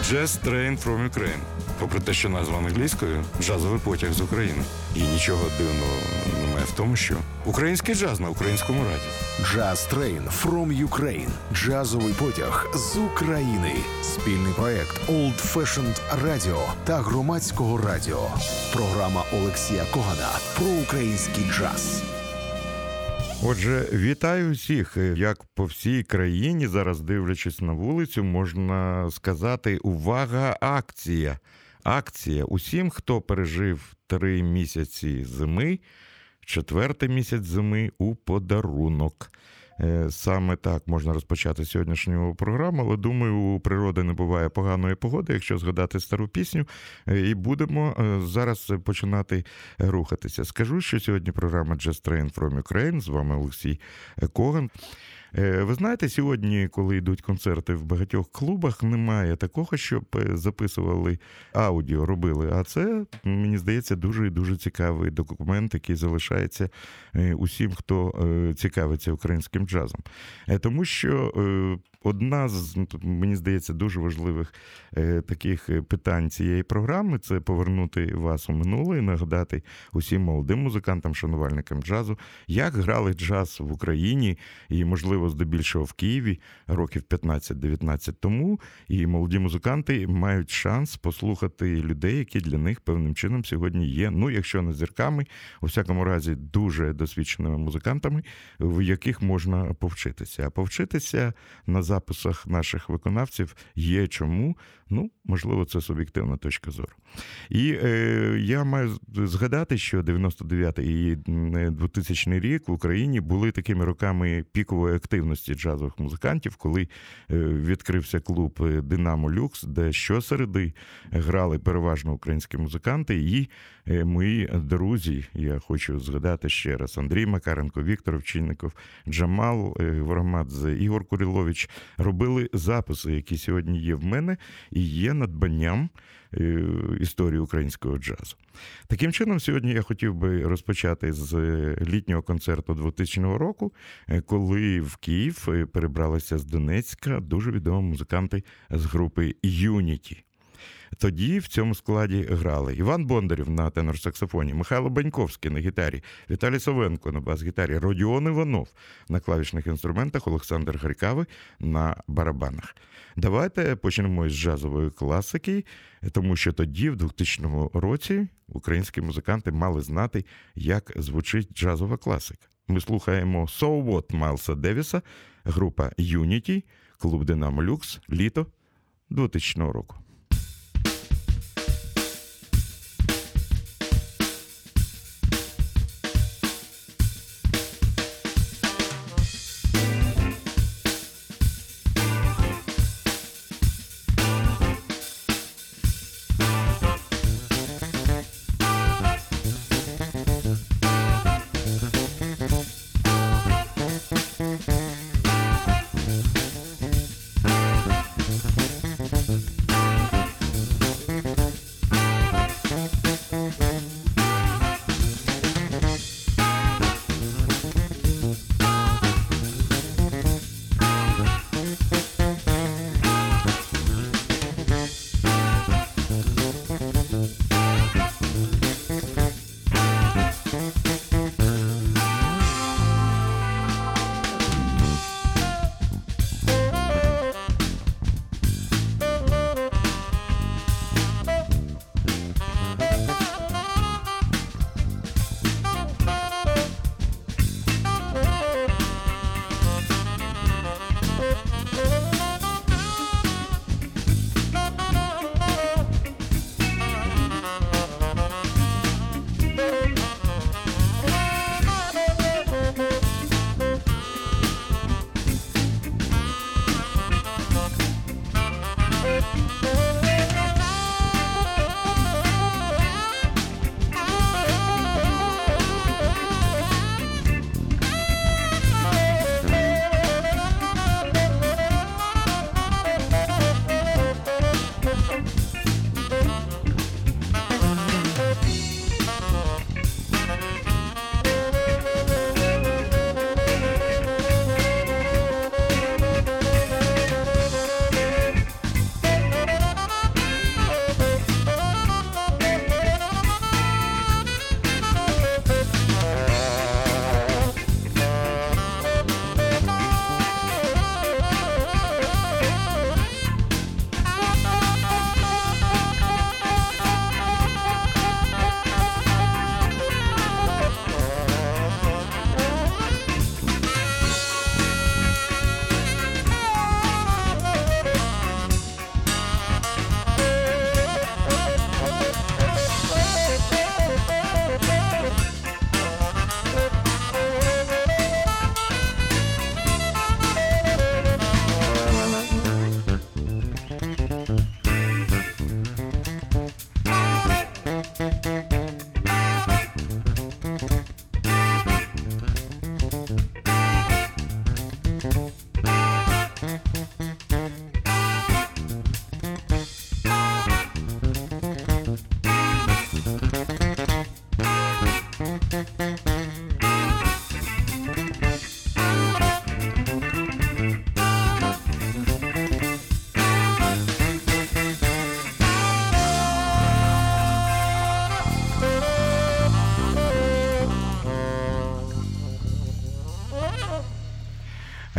Jazz Train from Ukraine. Попри те, що назва англійською, джазовий потяг з України. І нічого дивного немає в тому, що український джаз на українському радіо. Jazz Train from Ukraine. Джазовий потяг з України. Спільний проект Old Fashioned Radio та Громадського радіо. Програма Олексія Когана про український джаз. Отже, вітаю всіх. Як по всій країні, зараз дивлячись на вулицю, можна сказати, увага, акція. Акція. Усім, хто пережив 3 місяці зими, 4-й місяць зими у подарунок. Саме так можна розпочати сьогоднішню програму, але, думаю, у природи не буває поганої погоди, якщо згадати стару пісню, і будемо зараз починати рухатися. Скажу, що сьогодні програма Jazz Train from Ukraine, з вами Олексій Коган. Ви знаєте, сьогодні, коли йдуть концерти в багатьох клубах, немає такого, щоб записували аудіо, робили. А це, мені здається, дуже і дуже цікавий документ, який залишається усім, хто цікавиться українським джазом. Тому що одна з, мені здається, дуже важливих таких питань цієї програми – це повернути вас у минуле і нагадати усім молодим музикантам, шанувальникам джазу, як грали джаз в Україні і, можливо, здебільшого в Києві років 15-19 тому. І молоді музиканти мають шанс послухати людей, які для них певним чином сьогодні є, ну, якщо не зірками, у всякому разі, дуже досвідченими музикантами, в яких можна повчитися. А повчитися на записах наших виконавців є чому. Ну, можливо, це суб'єктивна точка зору. І я маю згадати, що 99-й і 2000 рік в Україні були такими роками пікової активності джазових музикантів, коли відкрився клуб «Динамо Люкс», де щосереди грали переважно українські музиканти. І мої друзі, я хочу згадати ще раз, Андрій Макаренко, Віктор Овчинников, Джамал Воромадзе, Ігор Курилович робили записи, які сьогодні є в мене, і є надбанням історії українського джазу. Таким чином, сьогодні я хотів би розпочати з літнього концерту 2000 року, коли в Київ перебралися з Донецька дуже відомі музиканти з групи «Юніті». Тоді в цьому складі грали Іван Бондарів на тенор-саксофоні, Михайло Баньковський на гітарі, Віталій Совенко на бас-гітарі, Родіон Іванов на клавішних інструментах, Олександр Гарькавий на барабанах. Давайте почнемо із джазової класики, тому що тоді, в 2000 році, українські музиканти мали знати, як звучить джазова класика. Ми слухаємо «So What» Майлса Девіса, група «Юніті», клуб «Динамо Люкс», літо 2000 року.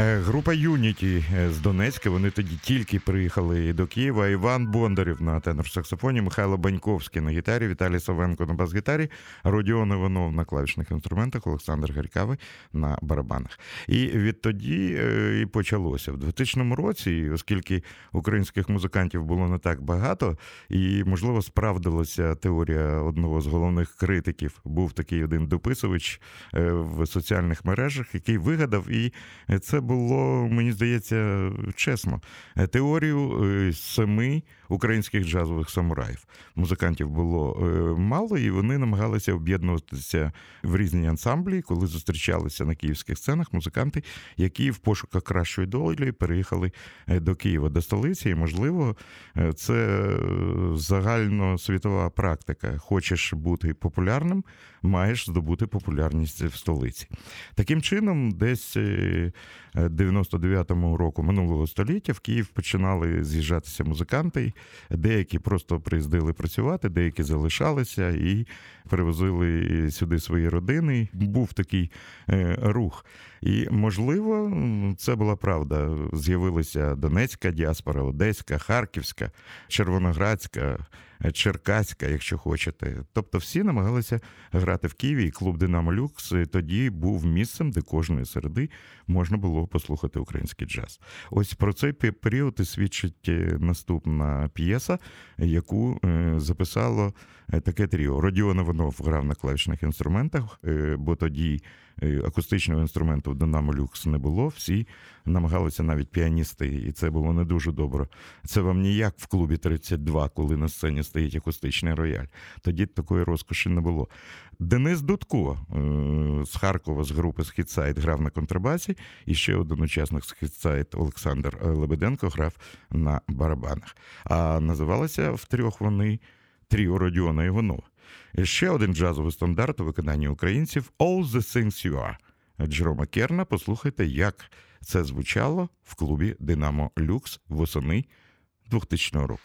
Група «Юніті» з Донецька, вони тоді тільки приїхали до Києва. Іван Бондарів на тенор-саксофоні, Михайло Баньковський на гітарі, Віталій Савенко на бас-гітарі, Родіон Іванов на клавішних інструментах, Олександр Гарькавий на барабанах. І відтоді і почалося. В 2000 році, оскільки українських музикантів було не так багато, і, можливо, справдилася теорія одного з головних критиків. Був такий один дописувач в соціальних мережах, який вигадав, і це було, мені здається, чесно, теорію 7 українських джазових самураїв. Музикантів було мало, і вони намагалися об'єднуватися в різні ансамблі, коли зустрічалися на київських сценах музиканти, які в пошуках кращої долі переїхали до Києва, до столиці. І, можливо, це загальносвітова практика. Хочеш бути популярним, маєш здобути популярність в столиці. Таким чином, десь 99-му року минулого століття в Київ починали з'їжджатися музиканти. Деякі просто приїздили працювати, деякі залишалися і привозили сюди свої родини. Був такий рух. І, можливо, це була правда. З'явилася Донецька діаспора, Одеська, Харківська, Червоноградська, Черкаська, якщо хочете. Тобто всі намагалися грати в Києві, і клуб «Динамо Люкс» тоді був місцем, де кожної середи можна було послухати український джаз. Ось про цей період і свідчить наступна п'єса, яку записало таке тріо. Родіон Іванов грав на клавішних інструментах, бо тоді акустичного інструменту в «Динамо Люкс» не було. Всі намагалися, навіть піаністи, і це було не дуже добре. Це вам не як в клубі 32, коли на сцені стоїть акустичний рояль. Тоді такої розкоші не було. Денис Дудко з Харкова, з групи «Східсайд» грав на контрабасі, і ще один учасник «Східсайд» Олександр Лебеденко грав на барабанах. А називалися втрьох вони тріо Родіона Іванова. Ще один джазовий стандарт у виконанні українців «All the Things You Are» Джерома Керна. Послухайте, як це звучало в клубі «Динамо Люкс» восени 2000 року.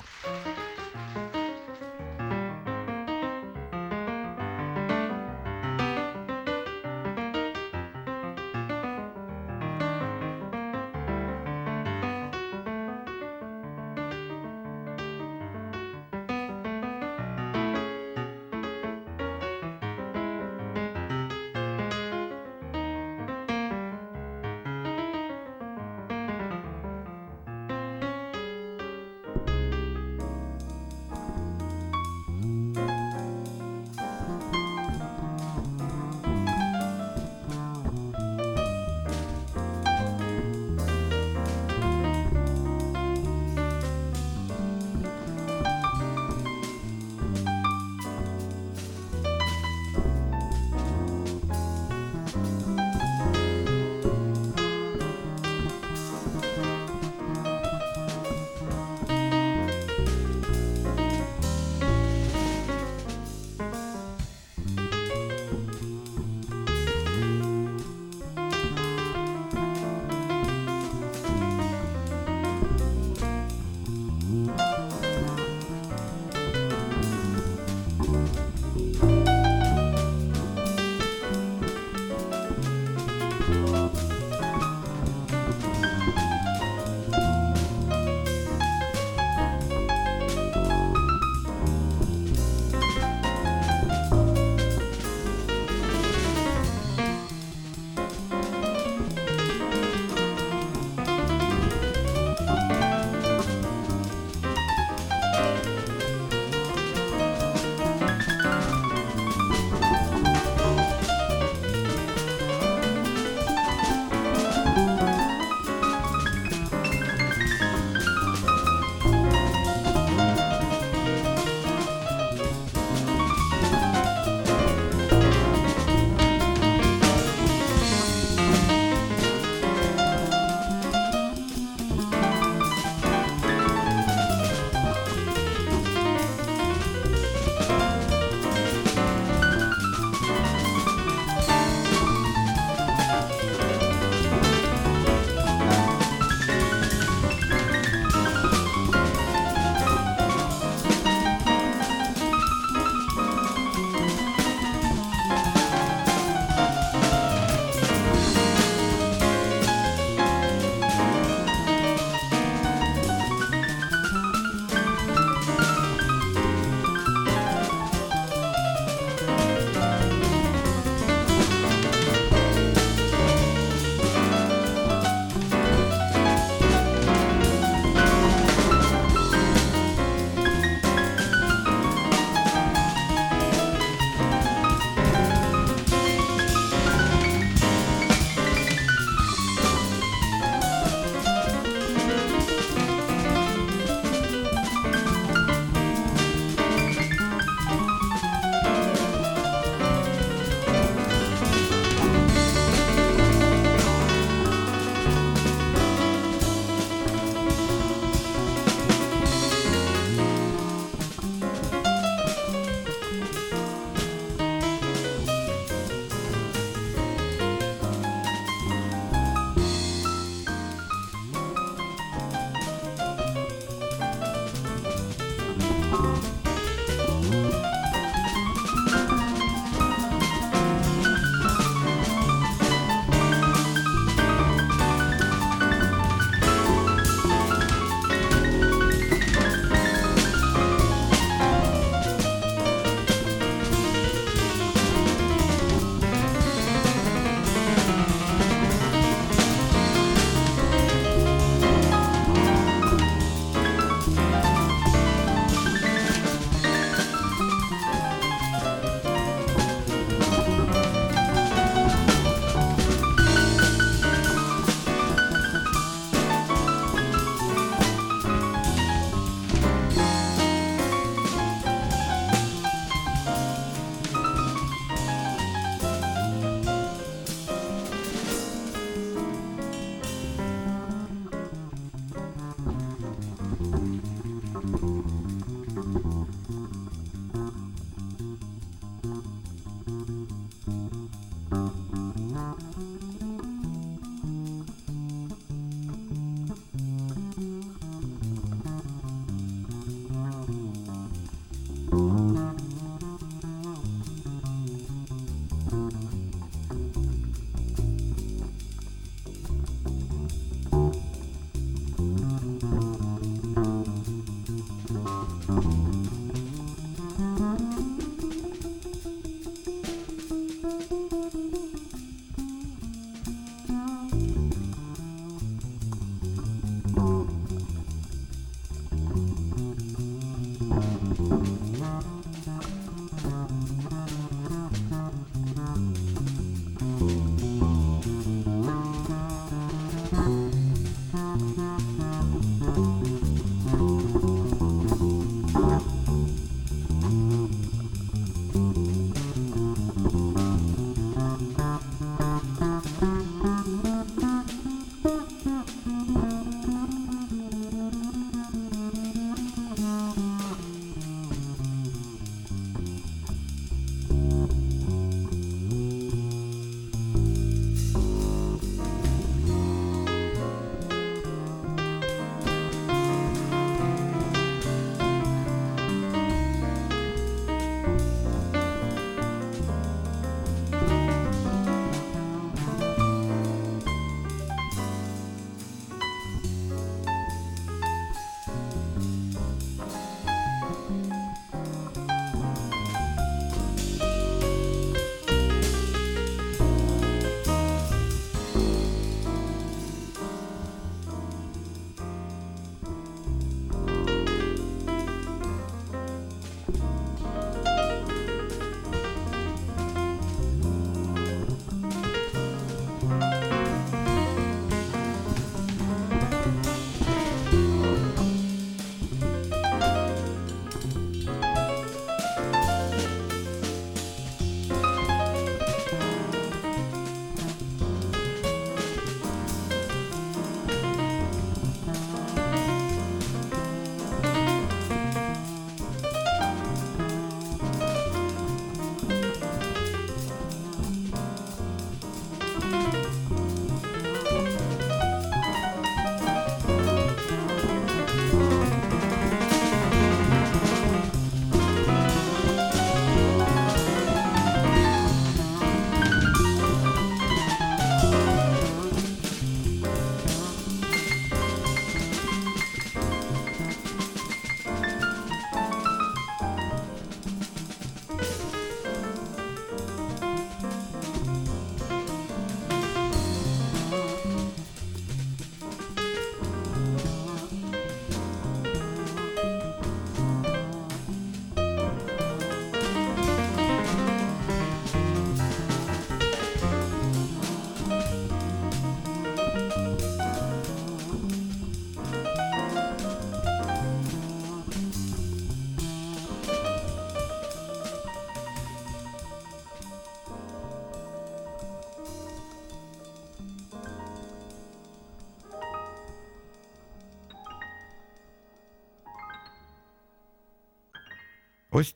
Ось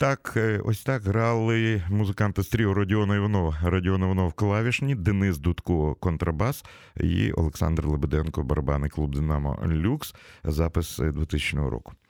так грали музиканти з тріо Родіон Іванов. Родіон Іванов клавішні, Денис Дудко контрабас і Олександр Лебеденко барабани, клуб «Динамо Люкс», запис 2000 року.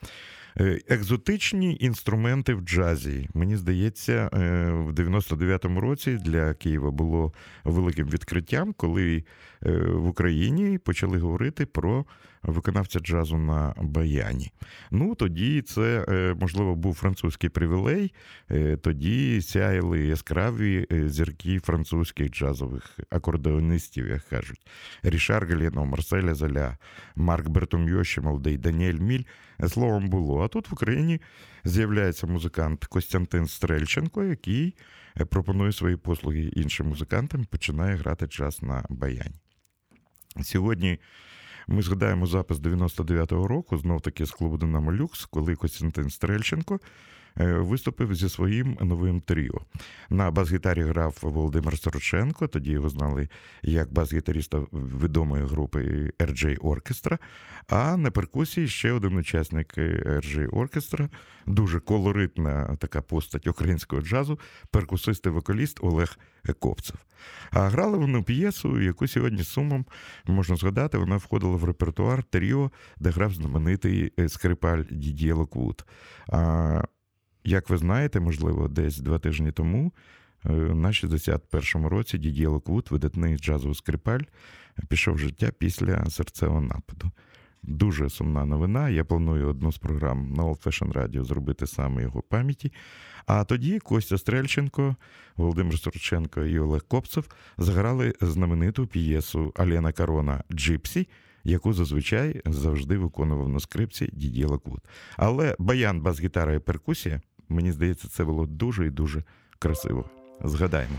Екзотичні інструменти в джазі. Мені здається, в 99-му році для Києва було великим відкриттям, коли в Україні почали говорити про виконавця джазу на баяні. Ну, тоді це, можливо, був французький привілей, тоді сяяли яскраві зірки французьких джазових акордеонистів, як кажуть. Рішар Галіно, Марсель Золя, Марк Бертомьо, ще молодий, Даніель Міль. Словом, було. А тут в Україні з'являється музикант Костянтин Стрельченко, який пропонує свої послуги іншим музикантам, починає грати джаз на баяні. Сьогодні ми згадаємо запис 99-го року, знов-таки з клубу «Динамо Люкс», коли Костянтин Стрельченко виступив зі своїм новим тріо. На бас-гітарі грав Володимир Сороченко, тоді його знали як бас-гітаріста відомої групи RJ Orchestra, а на перкусії ще один учасник RJ Orchestra, дуже колоритна така постать українського джазу, перкусист і вокаліст Олег Копцев. А грали вони п'єсу, яку сьогодні з сумом можна згадати, вона входила в репертуар тріо, де грав знаменитий скрипаль Дід'є Локвуд. Як ви знаєте, можливо, десь 2 тижні тому, на 61-му році Дід'є Локвуд, видатний джазовий скрипаль, пішов в життя після серцевого нападу. Дуже сумна новина. Я планую одну з програм на Old Fashion Radio зробити саме його пам'яті. А тоді Костя Стрельченко, Володимир Сороченко і Олег Копцев заграли знамениту п'єсу Алена Карона «Джипсі», яку зазвичай завжди виконував на скрипці Дід'є Локвуд. Але баян, бас-гітара і перкусія, мені здається, це було дуже і дуже красиво. Згадаємо.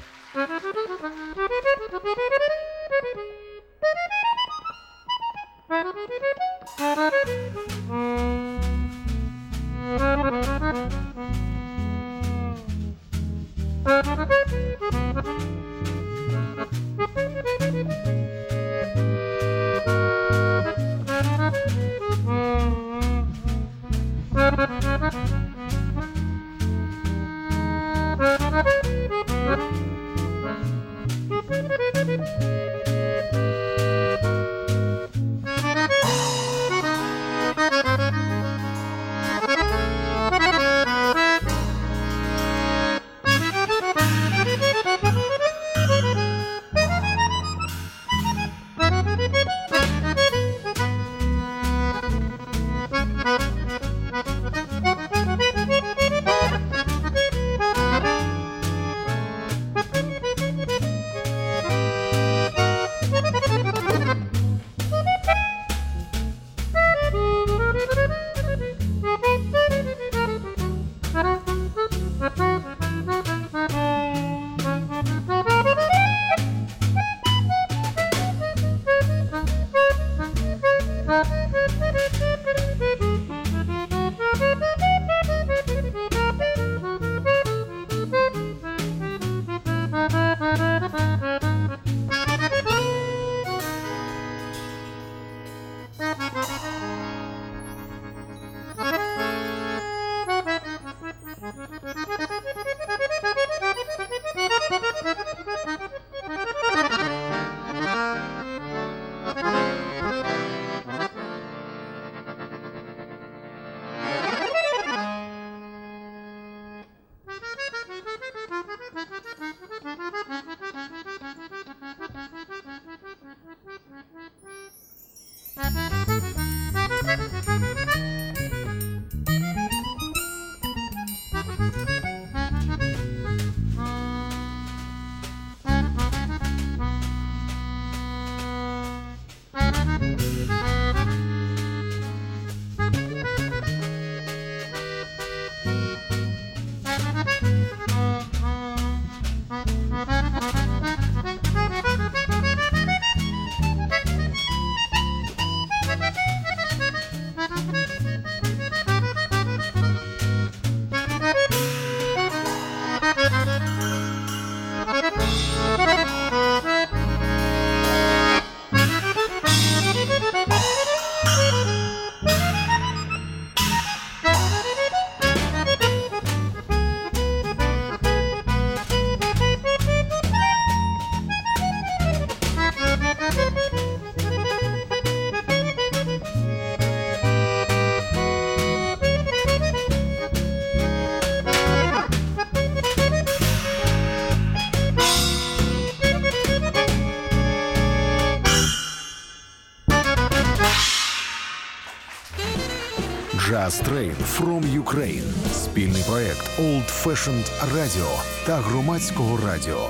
Jazz Train from Ukraine. Спільний проект Old Fashioned Radio та Громадського радіо.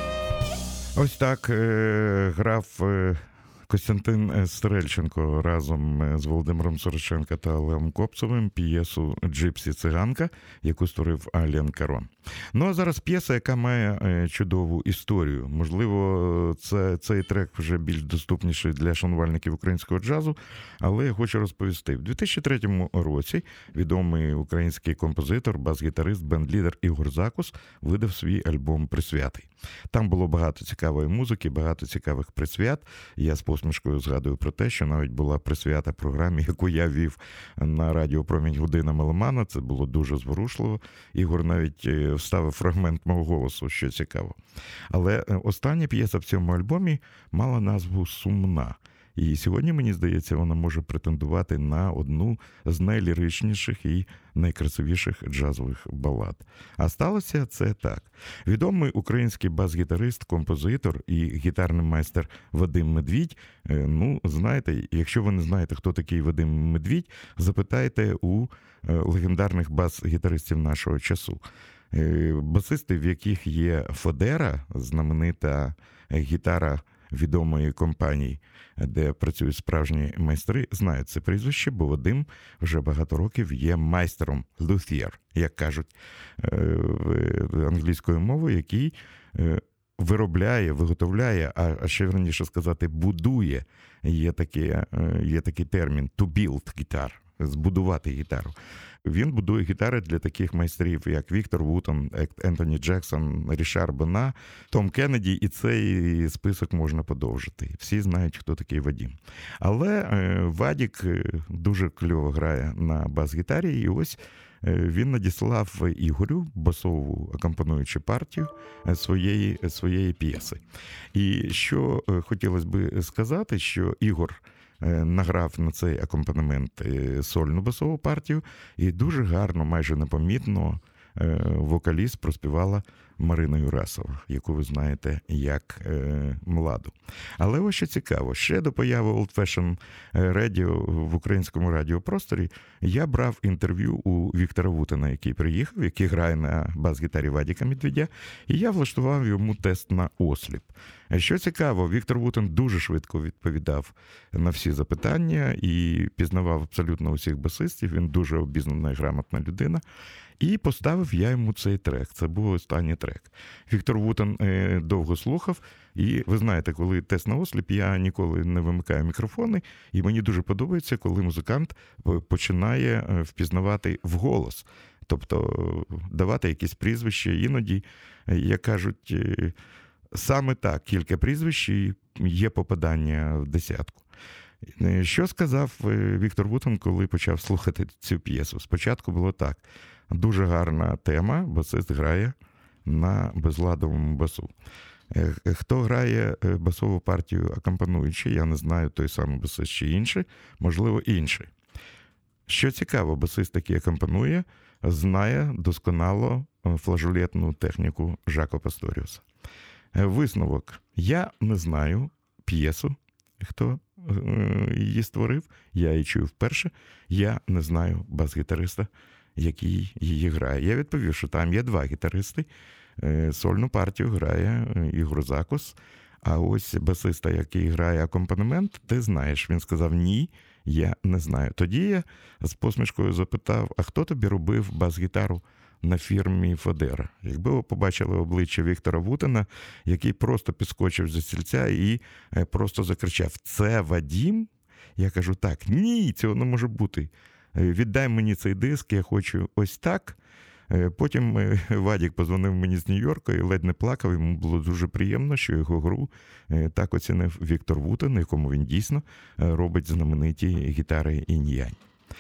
Ось так грав Костянтин Стрельченко разом з Володимиром Сороченко та Олегом Копцевим п'єсу «Джипсі циганка», яку створив Ален Карон. Ну а зараз п'єса, яка має чудову історію. Можливо, цей трек вже більш доступніший для шанувальників українського джазу, але я хочу розповісти. В 2003 році відомий український композитор, бас-гітарист, бенд-лідер Ігор Закус видав свій альбом «Присвятий». Там було багато цікавої музики, багато цікавих присвят. Я з посмішкою згадую про те, що навіть була присвята програмі, яку я вів на радіо «Промінь Година Меломана». Це було дуже зворушливо. Ігор навіть вставив фрагмент мого голосу, що цікаво. Але остання п'єса в цьому альбомі мала назву «Сумна». І сьогодні, мені здається, вона може претендувати на одну з найліричніших і найкрасивіших джазових балад. А сталося це так. Відомий український бас-гітарист, композитор і гітарний майстер Вадим Медвідь. Ну, знаєте, якщо ви не знаєте, хто такий Вадим Медвідь, запитайте у легендарних бас-гітаристів нашого часу. Басисти, в яких є Фодера, знаменита гітара відомої компанії, де працюють справжні майстри, знають це прізвище, бо Вадим вже багато років є майстером luthier, як кажуть англійською мовою, який виробляє, виготовляє, а ще верніше сказати, будує. Є такий термін to build guitar, збудувати гітару. Він будує гітари для таких майстрів, як Віктор Вутон, Ентоні Джексон, Рішар Бена, Том Кеннеді, і цей список можна подовжити. Всі знають, хто такий Вадим. Але Вадік дуже кльово грає на бас-гітарі, і ось він надіслав Ігорю басову акомпануючу партію своєї п'єси. І що хотілося би сказати, що Ігор награв на цей акомпанемент сольну басову партію, і дуже гарно, майже непомітно вокаліст проспівала Марина Юрасова, яку ви знаєте як Младу. Але ось що цікаво, ще до появи Old Fashion Radio в українському радіопросторі я брав інтерв'ю у Віктора Вутена, який приїхав, який грає на бас-гітарі Вадіка Медведя, і я влаштував йому тест на осліп. Що цікаво, Віктор Вутен дуже швидко відповідав на всі запитання і пізнавав абсолютно усіх басистів, він дуже обізнана і грамотна людина. І поставив я йому цей трек. Це був останній трек. Віктор Вутен довго слухав, і ви знаєте, коли тест на осліп, я ніколи не вимикаю мікрофони, і мені дуже подобається, коли музикант починає впізнавати вголос, тобто давати якісь прізвища. Іноді, як кажуть, саме так, кілька прізвищ і є попадання в десятку. Що сказав Віктор Вутен, коли почав слухати цю п'єсу? Спочатку було так. Дуже гарна тема, басист грає на безладовому басу. Хто грає басову партію акомпануючи, я не знаю, той самий басист чи інший, можливо, інший. Що цікаво, басист, який акомпанує, знає досконало флажолетну техніку Жако Пасторіуса. Висновок. Я не знаю п'єсу, хто її створив, я її чую вперше, я не знаю бас-гітариста, який її грає. Я відповів, що там є два гітаристи, сольну партію грає Ігор Закус, а ось басиста, який грає акомпанемент, ти знаєш. Він сказав, ні, я не знаю. Тоді я з посмішкою запитав, а хто тобі робив бас-гітару на фірмі Фодера? Якби ви побачили обличчя Віктора Вутена, який просто підскочив зі стільця і просто закричав, це Вадім? Я кажу, так, ні, цього не може бути. Віддай мені цей диск, я хочу ось так. Потім Вадік позвонив мені з Нью-Йорка і ледь не плакав. Йому було дуже приємно, що його гру так оцінив Віктор Вутен, якому він дійсно робить знамениті гітари інь-янь.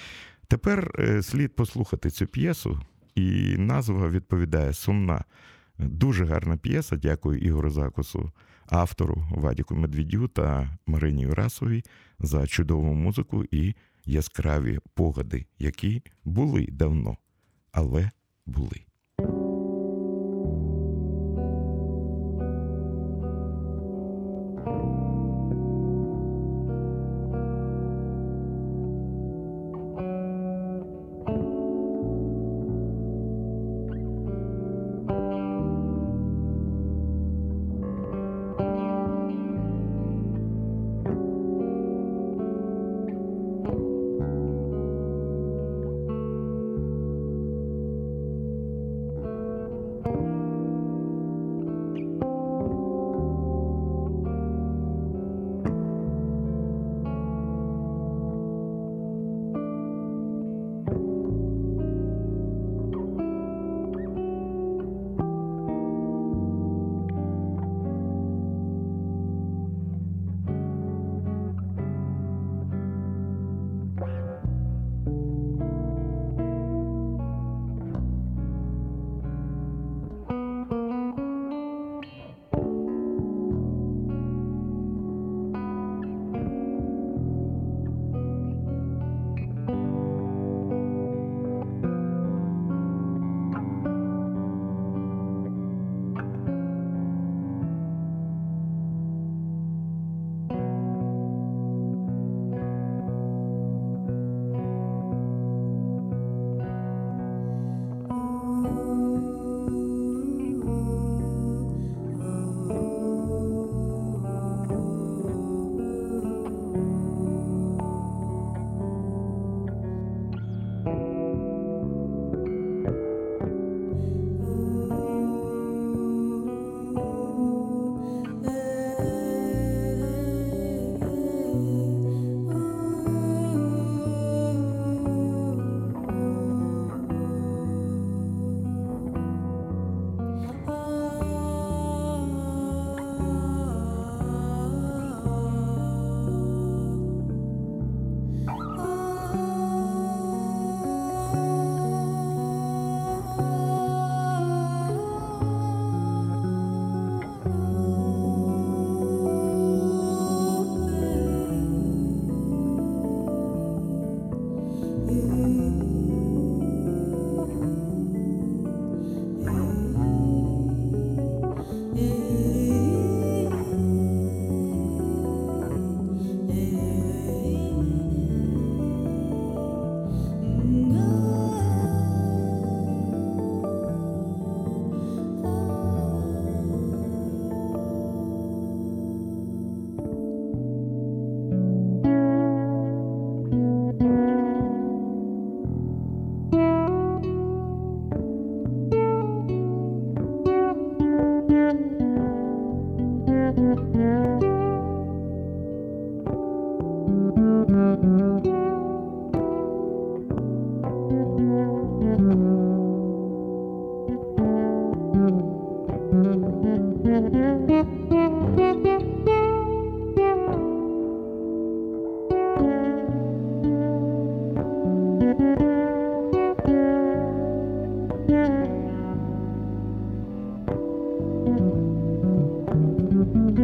Тепер слід послухати цю п'єсу, і назва відповідає «Сумна». Дуже гарна п'єса, дякую Ігору Закусу, автору Вадіку Медведю та Марині Юрасовій за чудову музику і яскраві погляди, які були давно, але були.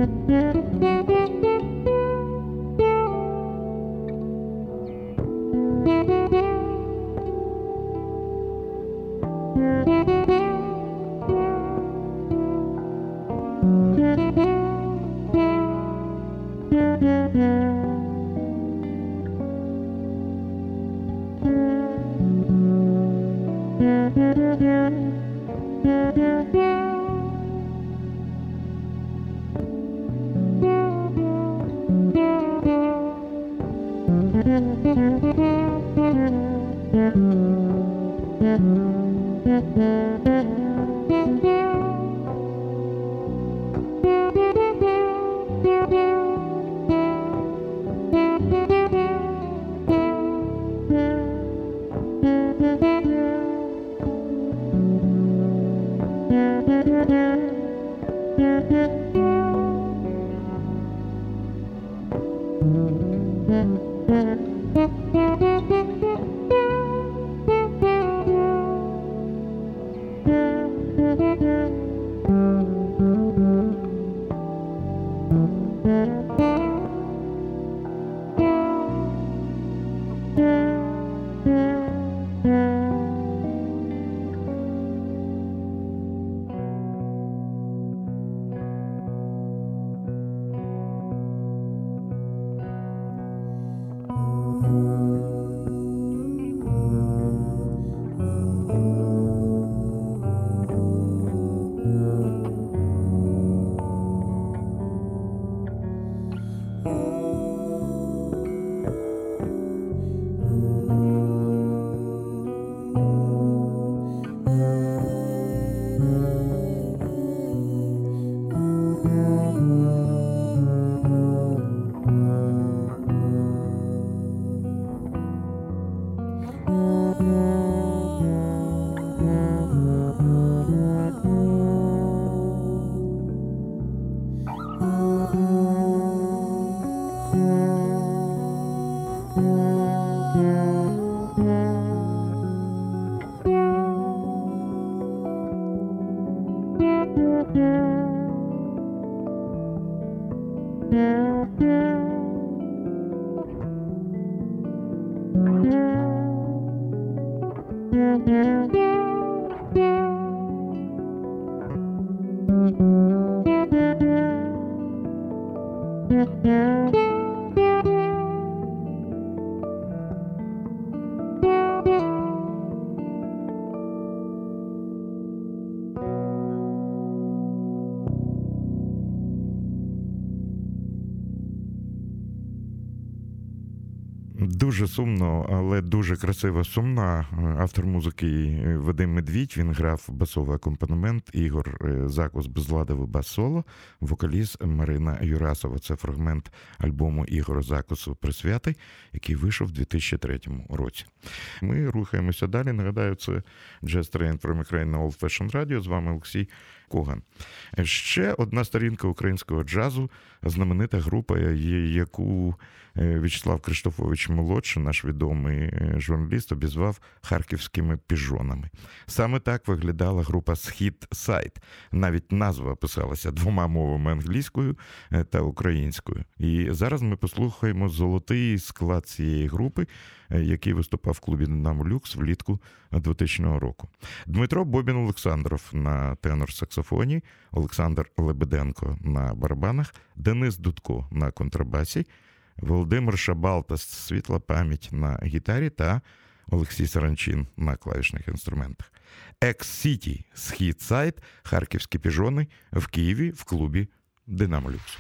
Дуже сумно, але дуже красиво сумна. Автор музики Вадим Медвідь, він грав басовий акомпанемент, Ігор Закус безладовий бас-соло, вокаліст Марина Юрасова. Це фрагмент альбому Ігора Закусу «Присвятий», який вийшов у 2003 році. Ми рухаємося далі. Нагадаю, це Jazz Train from Ukraine на Old Fashioned Radio. З вами Олексій Коган. Ще одна сторінка українського джазу, знаменита група, яку В'ячеслав Криштофович-молодший, наш відомий журналіст, обізвав харківськими піжонами. Саме так виглядала група «Схід Сайд». Навіть назва писалася двома мовами – англійською та українською. І зараз ми послухаємо золотий склад цієї групи, який виступав в клубі «Динамо Люкс» влітку 2000 року. Дмитро Бобін-Олександров на тенор-саксофоні, Олександр Лебеденко на барабанах, Денис Дудко на контрабасі, Володимир Шабалта, світла пам'ять, на гітарі та Олексій Саранчин на клавішних інструментах. Екс-Сіті, Схід Сайд, харківські піжони в Києві в клубі «Динамо Люкс».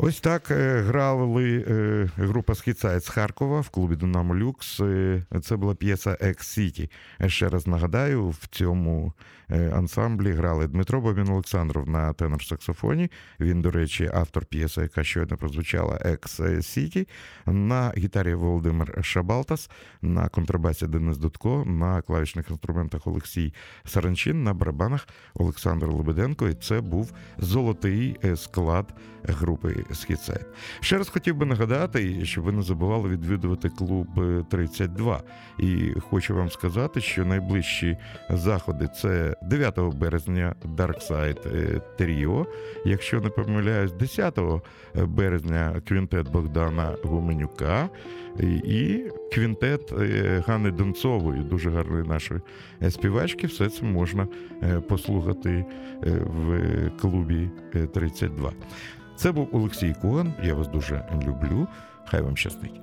Ось так грали група «Східсайд» з Харкова в клубі «Динамо Люкс». Це була п'єса «Екс-Сіті». Ще раз нагадаю, в цьому ансамблі грали Дмитро Бабін-Олександров на тенор-саксофоні. Він, до речі, автор п'єси, яка щойно прозвучала, «Екс-Сіті». На гітарі Володимир Шабалтас, на контрабасі Денис Дудко, на клавішних інструментах Олексій Саранчин, на барабанах Олександр Лебеденко. І це був золотий склад групи «Східсайд». Ще раз хотів би нагадати, щоб ви не забували відвідувати клуб 32. І хочу вам сказати, що найближчі заходи – це 9 березня Dark Side Trio, якщо не помиляюсь, 10 березня квінтет Богдана Гуменюка і квінтет Ганни Донцової, дуже гарної нашої співачки. Все це можна послухати в клубі 32. Це був Олексій Коган. Я вас дуже люблю. Хай вам щастить.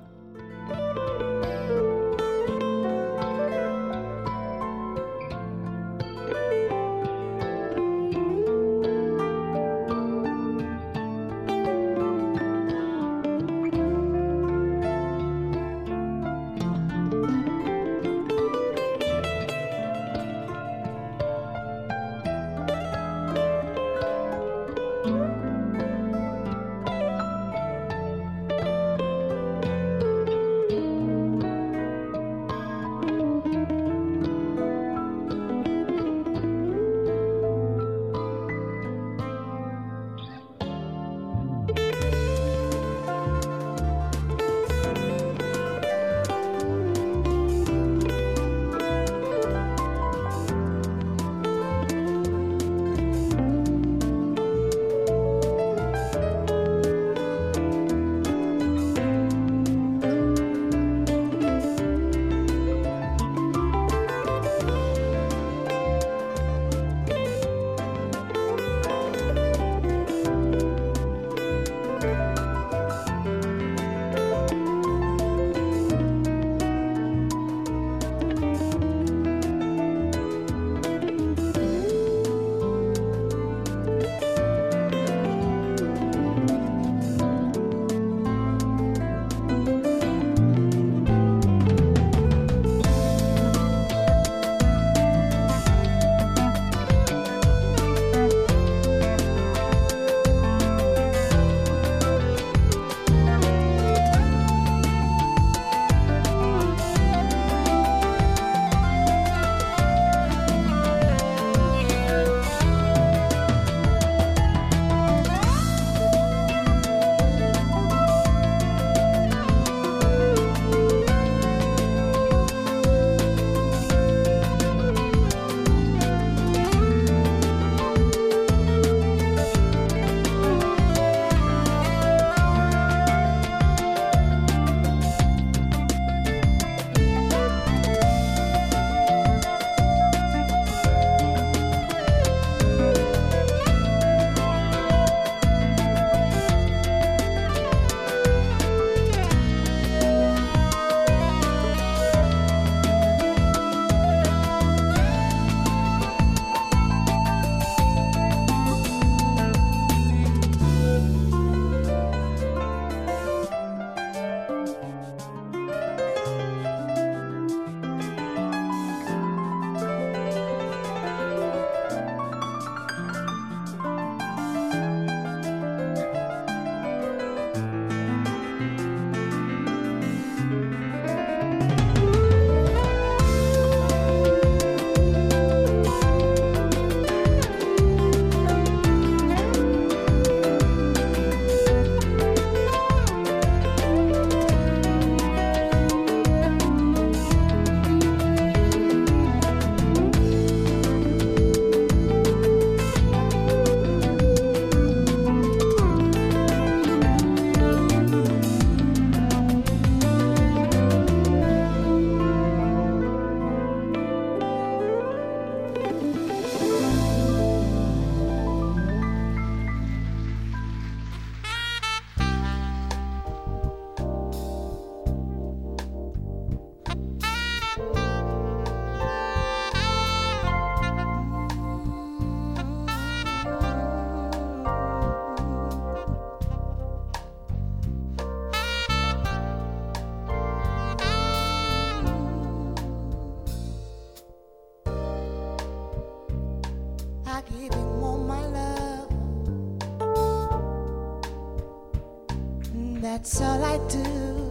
That's all I do.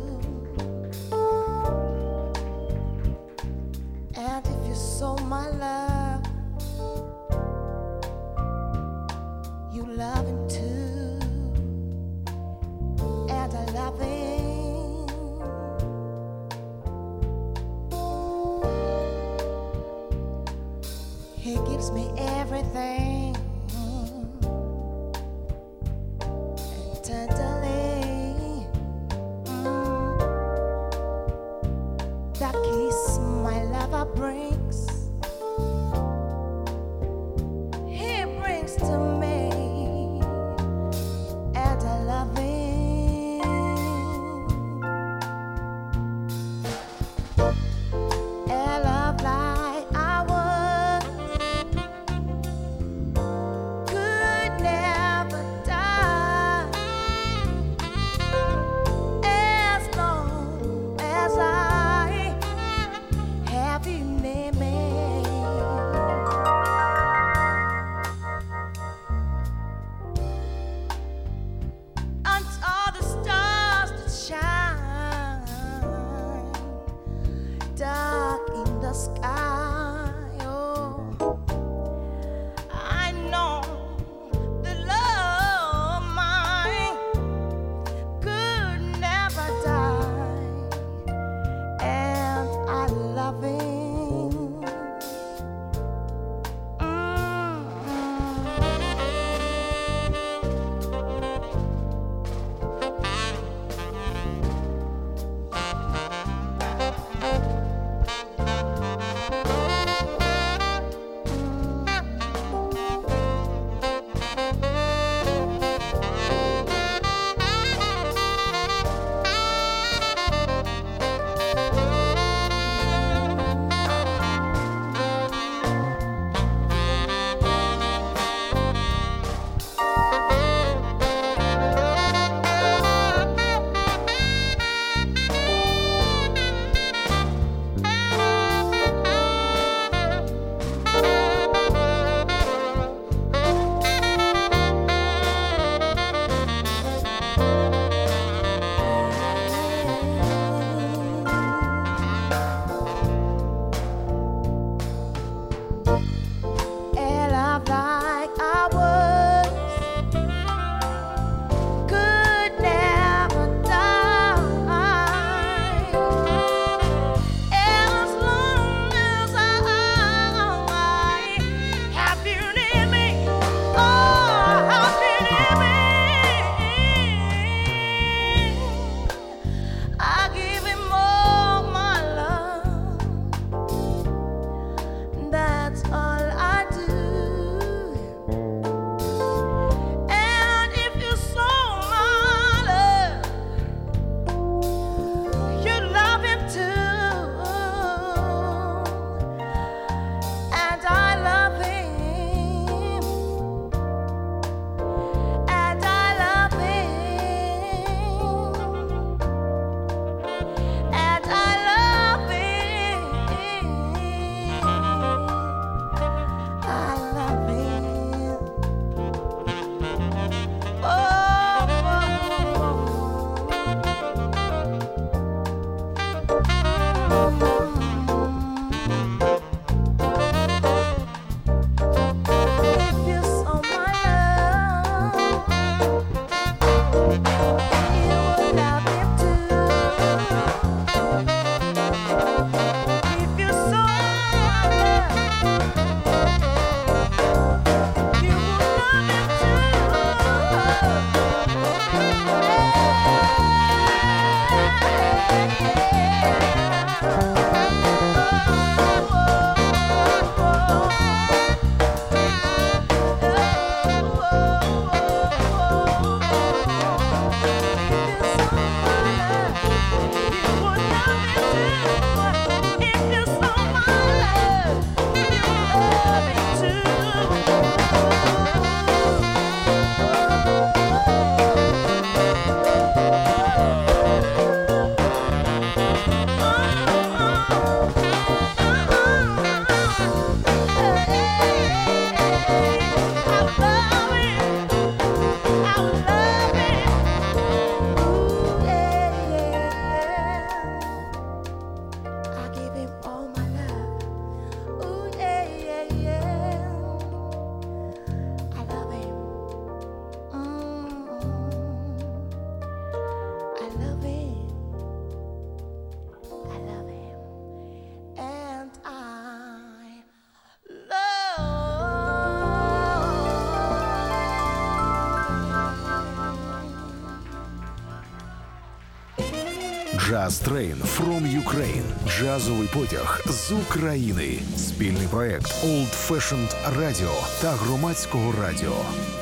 And if you saw my love, you love him too. And I love him. He gives me everything. And tenderly, that kiss my lover brings, he brings to me, and I love him. A love like ours Jazz Train from Ukraine. Джазовий потяг з України. Спільний проект Old Fashioned Radio та Громадського радіо.